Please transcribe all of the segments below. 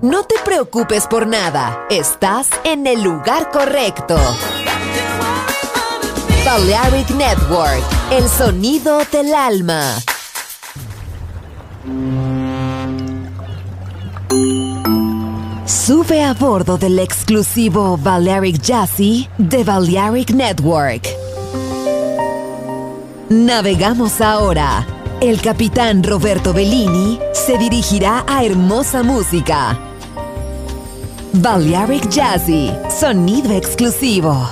No te preocupes por nada, estás en el lugar correcto. Balearic Network, el sonido del alma. Sube a bordo del exclusivo Balearic Jazzy de Balearic Network. Navegamos ahora. El capitán Roberto Bellini se dirigirá a hermosa música. Balearic Jazzy, sonido exclusivo.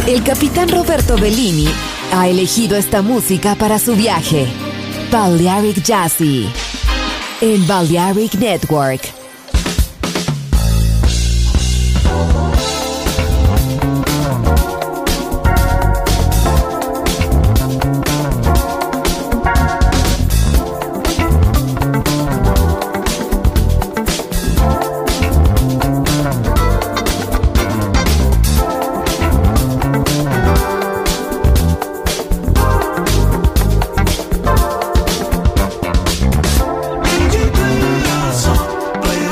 El capitán Roberto Bellini ha elegido esta música para su viaje. Balearic Jazzy en Balearic Network. Play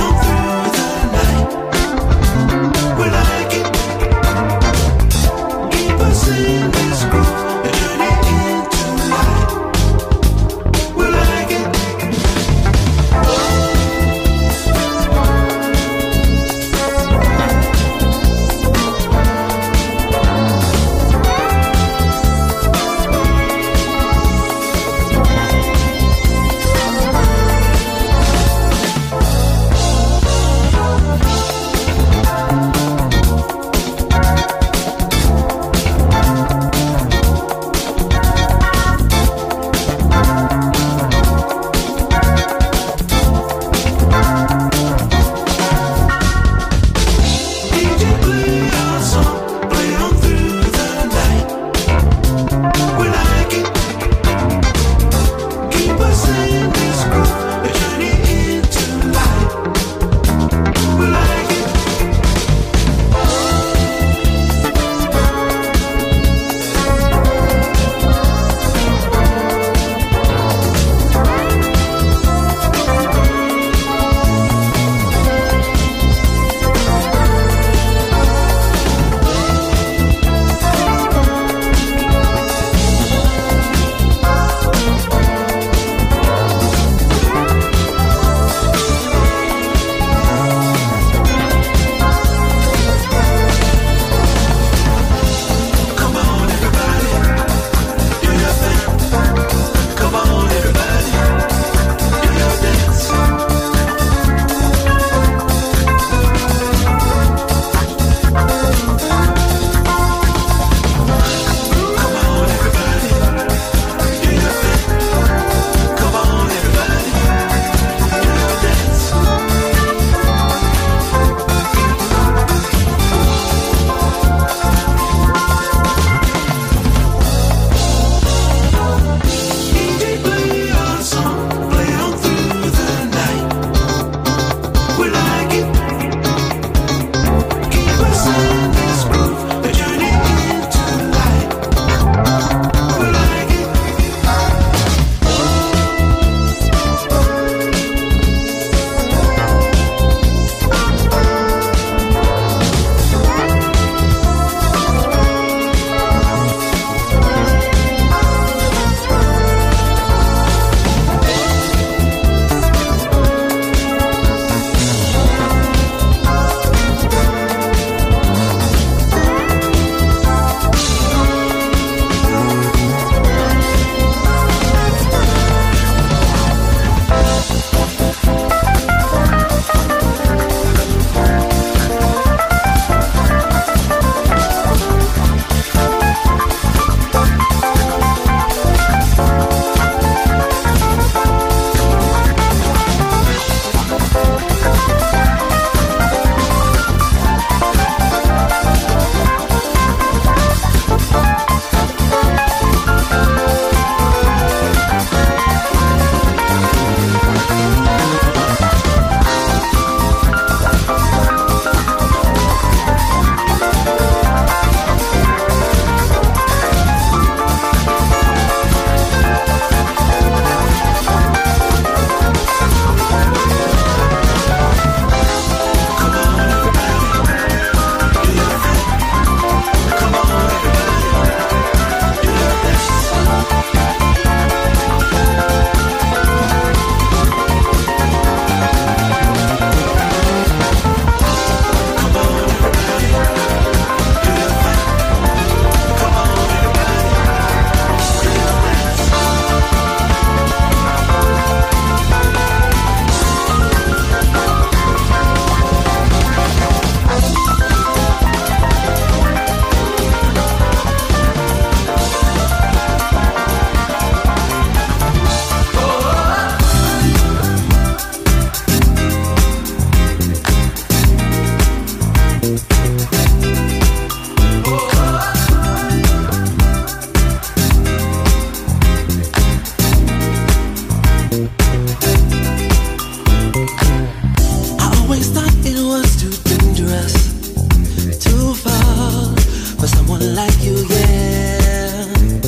like you, yeah.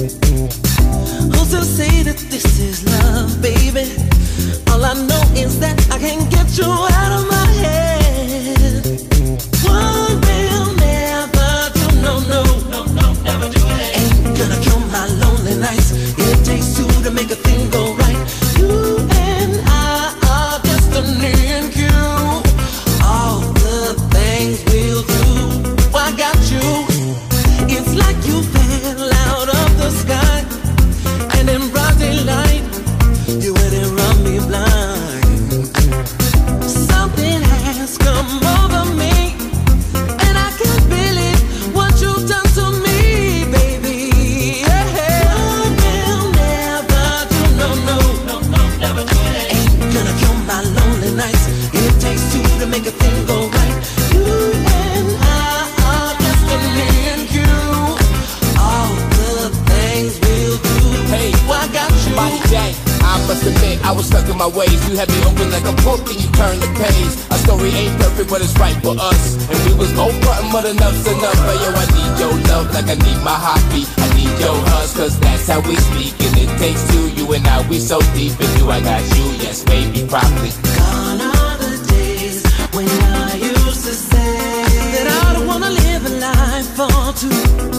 Who's to say that this is love, baby? All I know is that I can't get you out of my head. One will never do, no, never do it. Ain't gonna kill my lonely nights. It takes two to make a thing go right. You and I are destiny and cue. All the things we'll do, I got you. It's like you fell out of the sky, and in broad daylight, you went and run me blind. Something has come over me, and I can't believe what you've done to me, baby. Yeah. I will never do, no, never do it. Ain't gonna kill my lonely nights. It takes two to make a thing go right. You and I are destiny and cue. All the things we'll do. Hey, I got you. Body Jack, I must admit I was stuck in my ways. You had me open like a book and you turned the page. Our story ain't perfect, but it's right for us. And we was both frontin', but enough's enough. But yo, I need your love like I need my heartbeat. I need your hugs, cause that's how we speak. And it takes two, you and I, we so deep. And you, I got you, yes, baby, probably. Gone are the days when I used to say that I don't wanna live a life for two.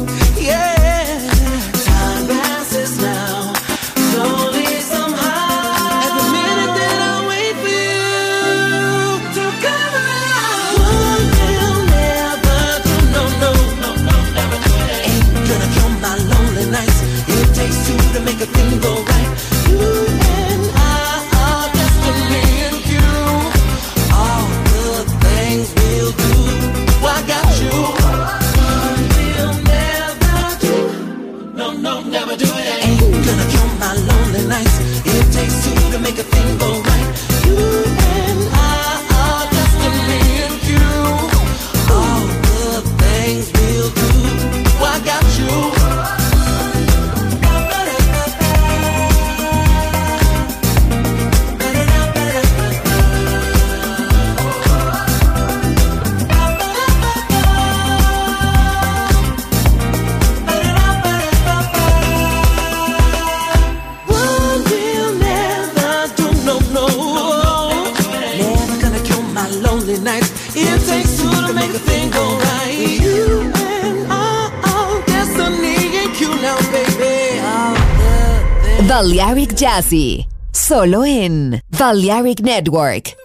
Yeah, time passes now, slowly somehow. Every minute that I wait for you to come around. One will never do, no, never do it. Ain't gonna kill my lonely nights. It takes two to make a thing go right. You and I are destiny and cue. All the things we'll do, I got you. One will never do, no, never do it. Ain't gonna kill my lonely nights. It takes two to make a thing go right. You and I are destiny and cue. All the things we'll do, I got you. One will never do, no, never gonna kill my lonely nights. It takes two to make a thing go right. You and I are destiny and cue now, baby. All the things. Balearic Jazzy, solo en Balearic Network.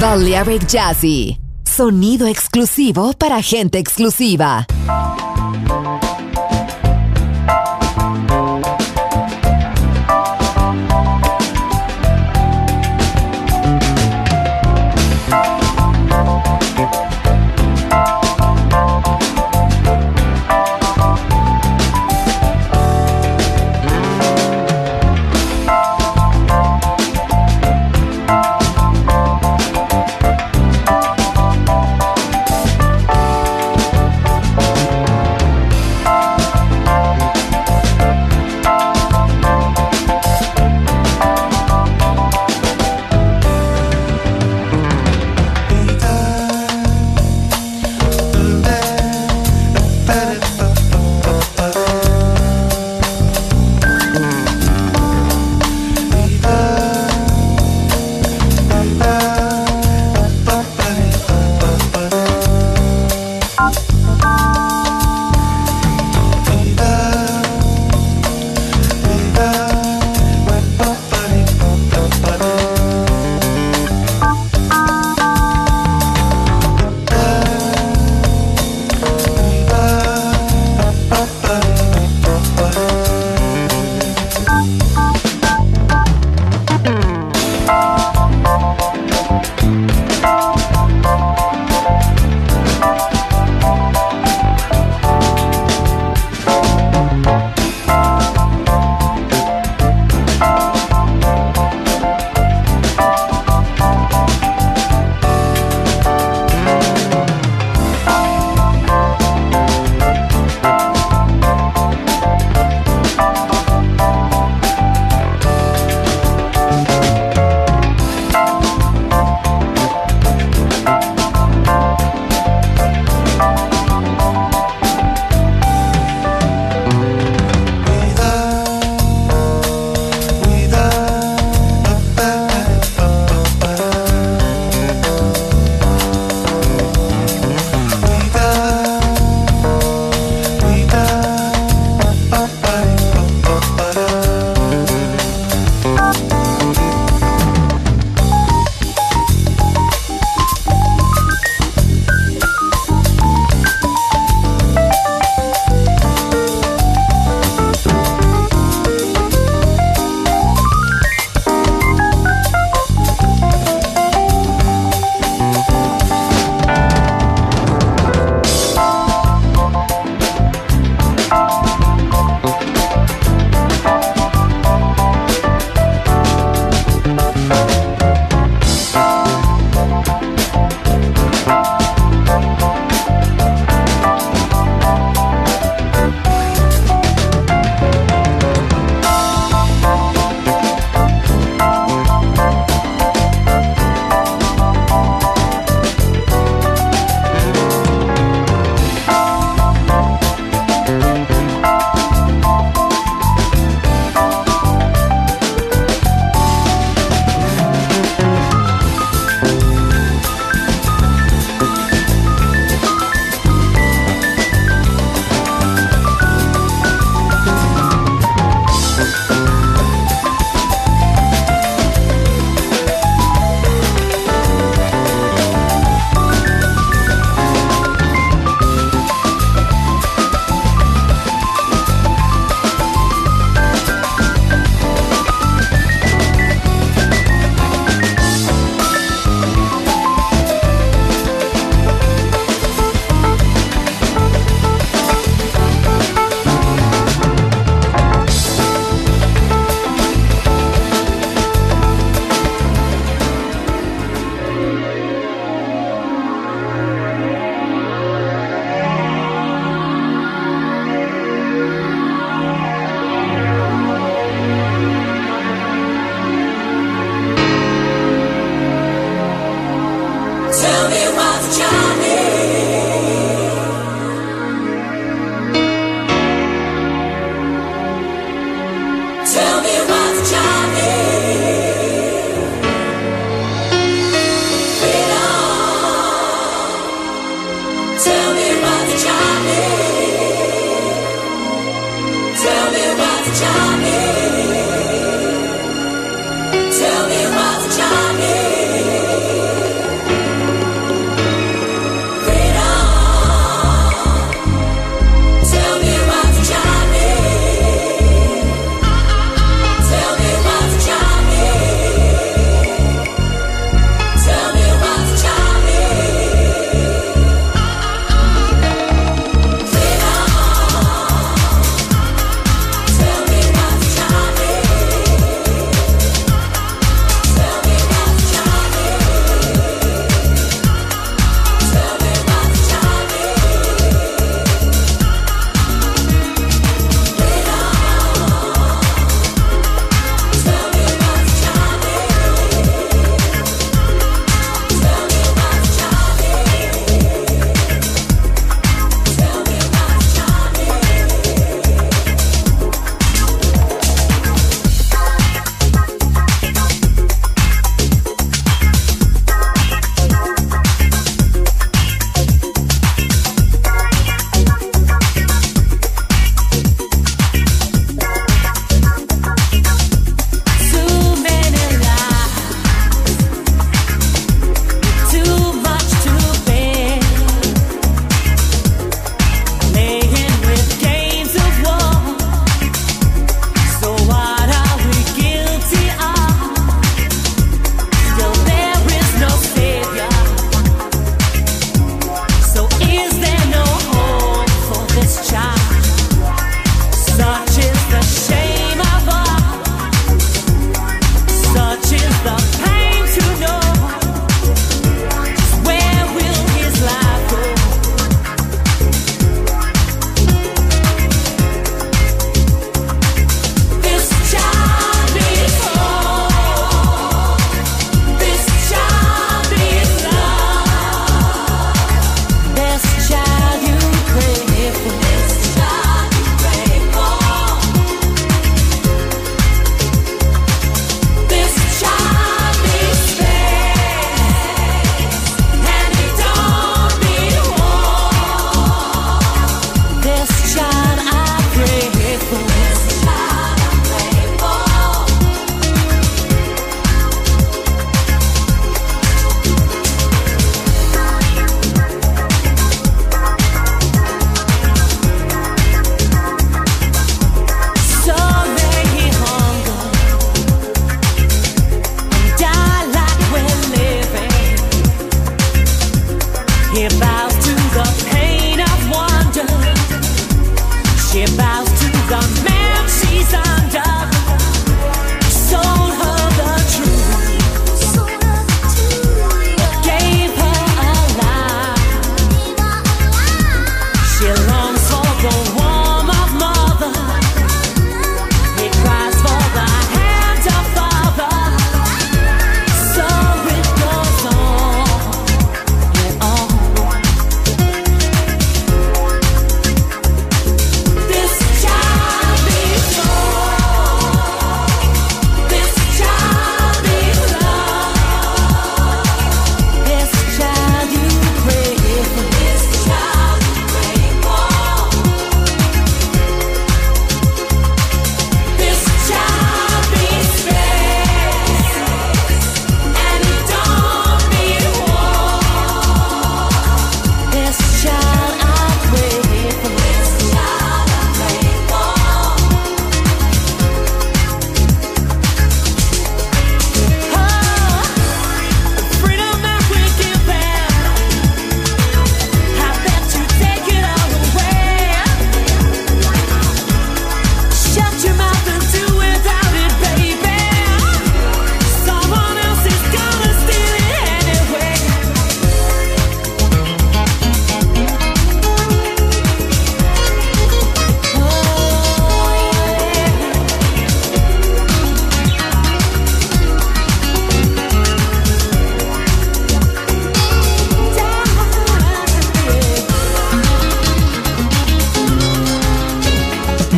Balearic Jazzy, sonido exclusivo para gente exclusiva.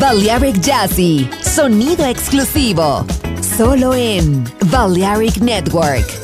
Balearic Jazzy, sonido exclusivo, solo en Balearic Network.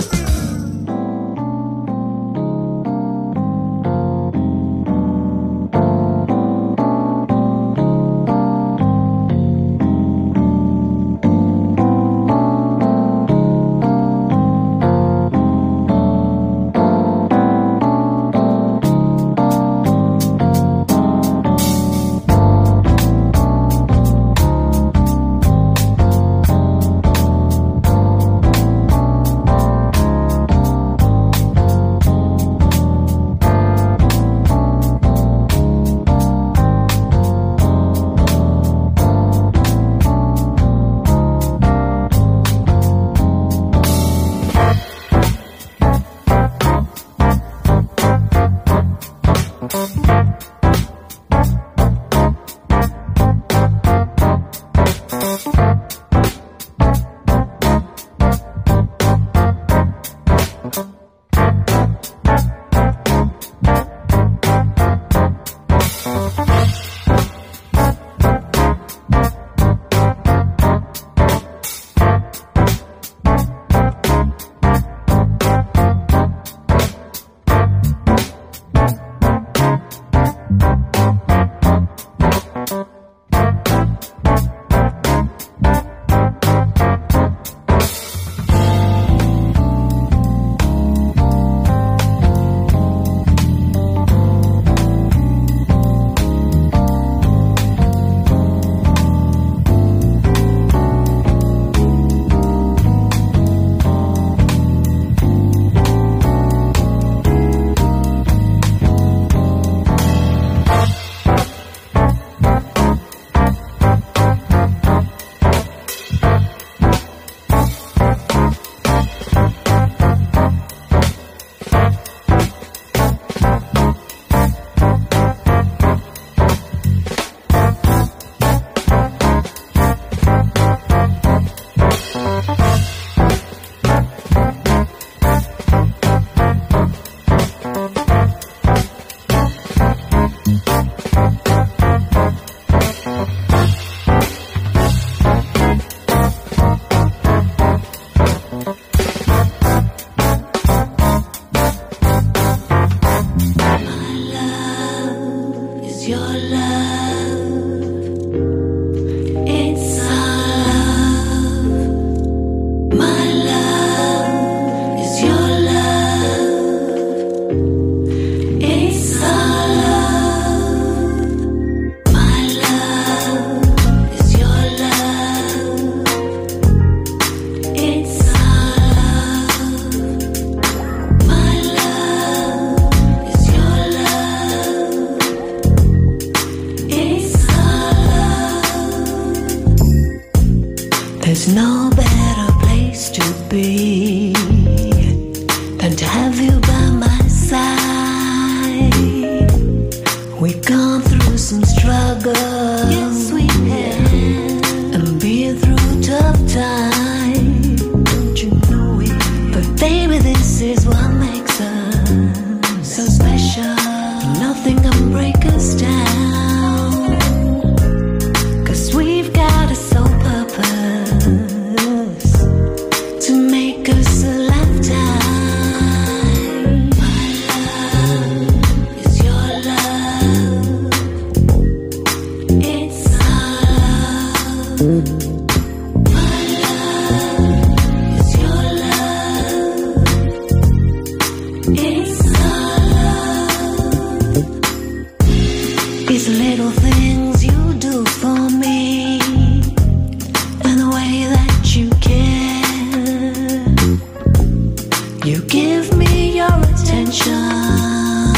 There's no better place to be than to have you by my side. We've gone through some struggles, yes we have, and been through tough times. Don't you know it? But baby, this is what makes us so special. Nothing can break us down, 'cause we've got a soul purpose to make us a lifetime. My love is your love. It's our love. My love is your love. It's our love. These little things you do for me, and the way that you care. You give me your attention,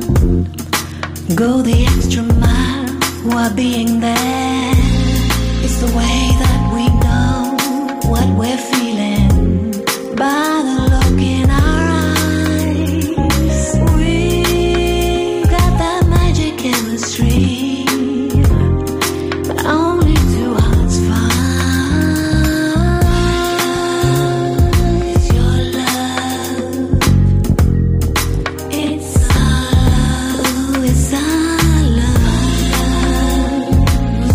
go the extra mile while being there. It's the way that we know what we're feeling by the look in our eyes. We got that magic chemistry, but only two hearts find. It's your love. It's our love. It's our love.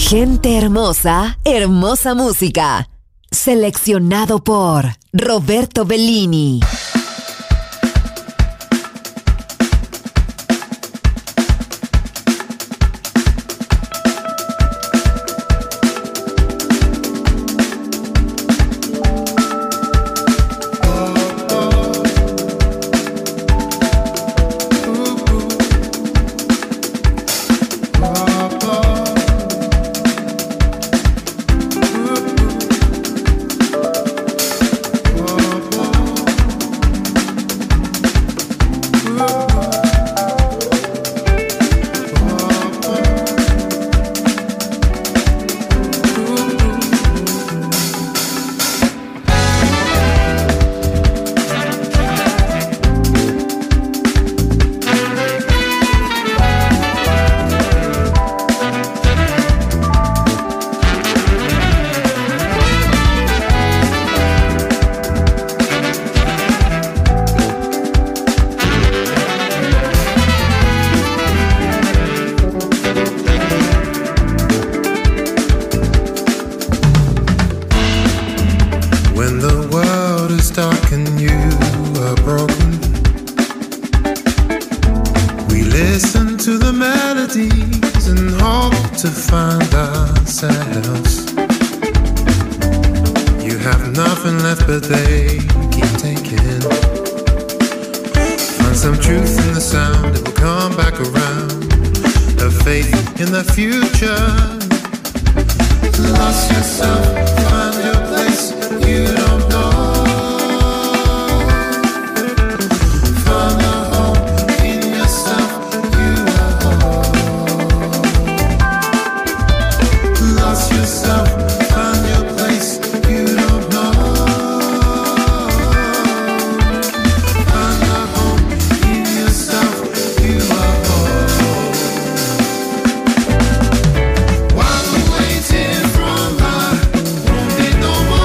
Gente hermosa, hermosa música. Seleccionado por Roberto Bellini. While we're waiting from her, won't be no more.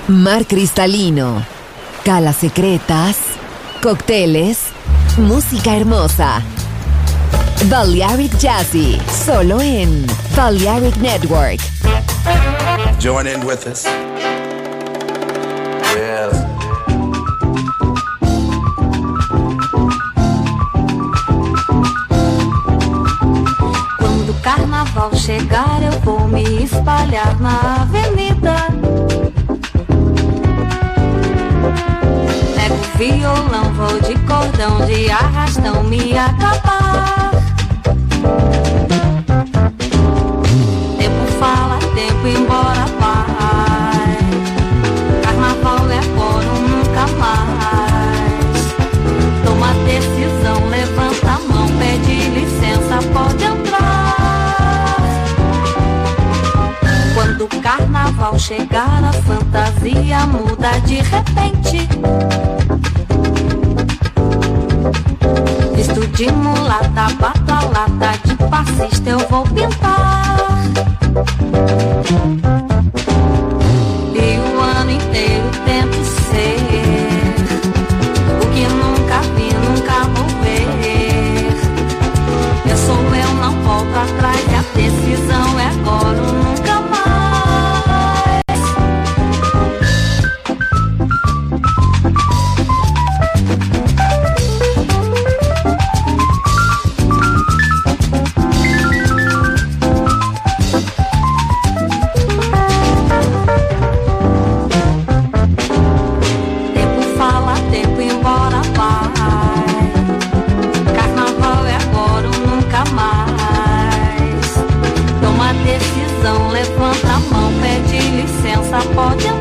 mar cristalino, calas secretas, cócteles, música hermosa. Balearic Jazzy, solo en Balearic Network. Join in with us. Yes. Quando o carnaval chegar, eu vou me espalhar na avenida. Pego o violão, vou de cordão, de arrastão me acabar. Tempo fala, tempo embora vai. Carnaval é agora ou nunca mais. Toma decisão, levanta a mão, pede licença, pode entrar. Quando o carnaval chegar, a fantasia muda de repente. Visto de mulata, bato a lata, de passista eu vou pintar. E o ano inteiro tento ser o que nunca vi, nunca vou ver. Eu sou eu, não volto atrás, e a decisão é agora ou nunca mais. Levanta a mão, pede licença, pode entrar.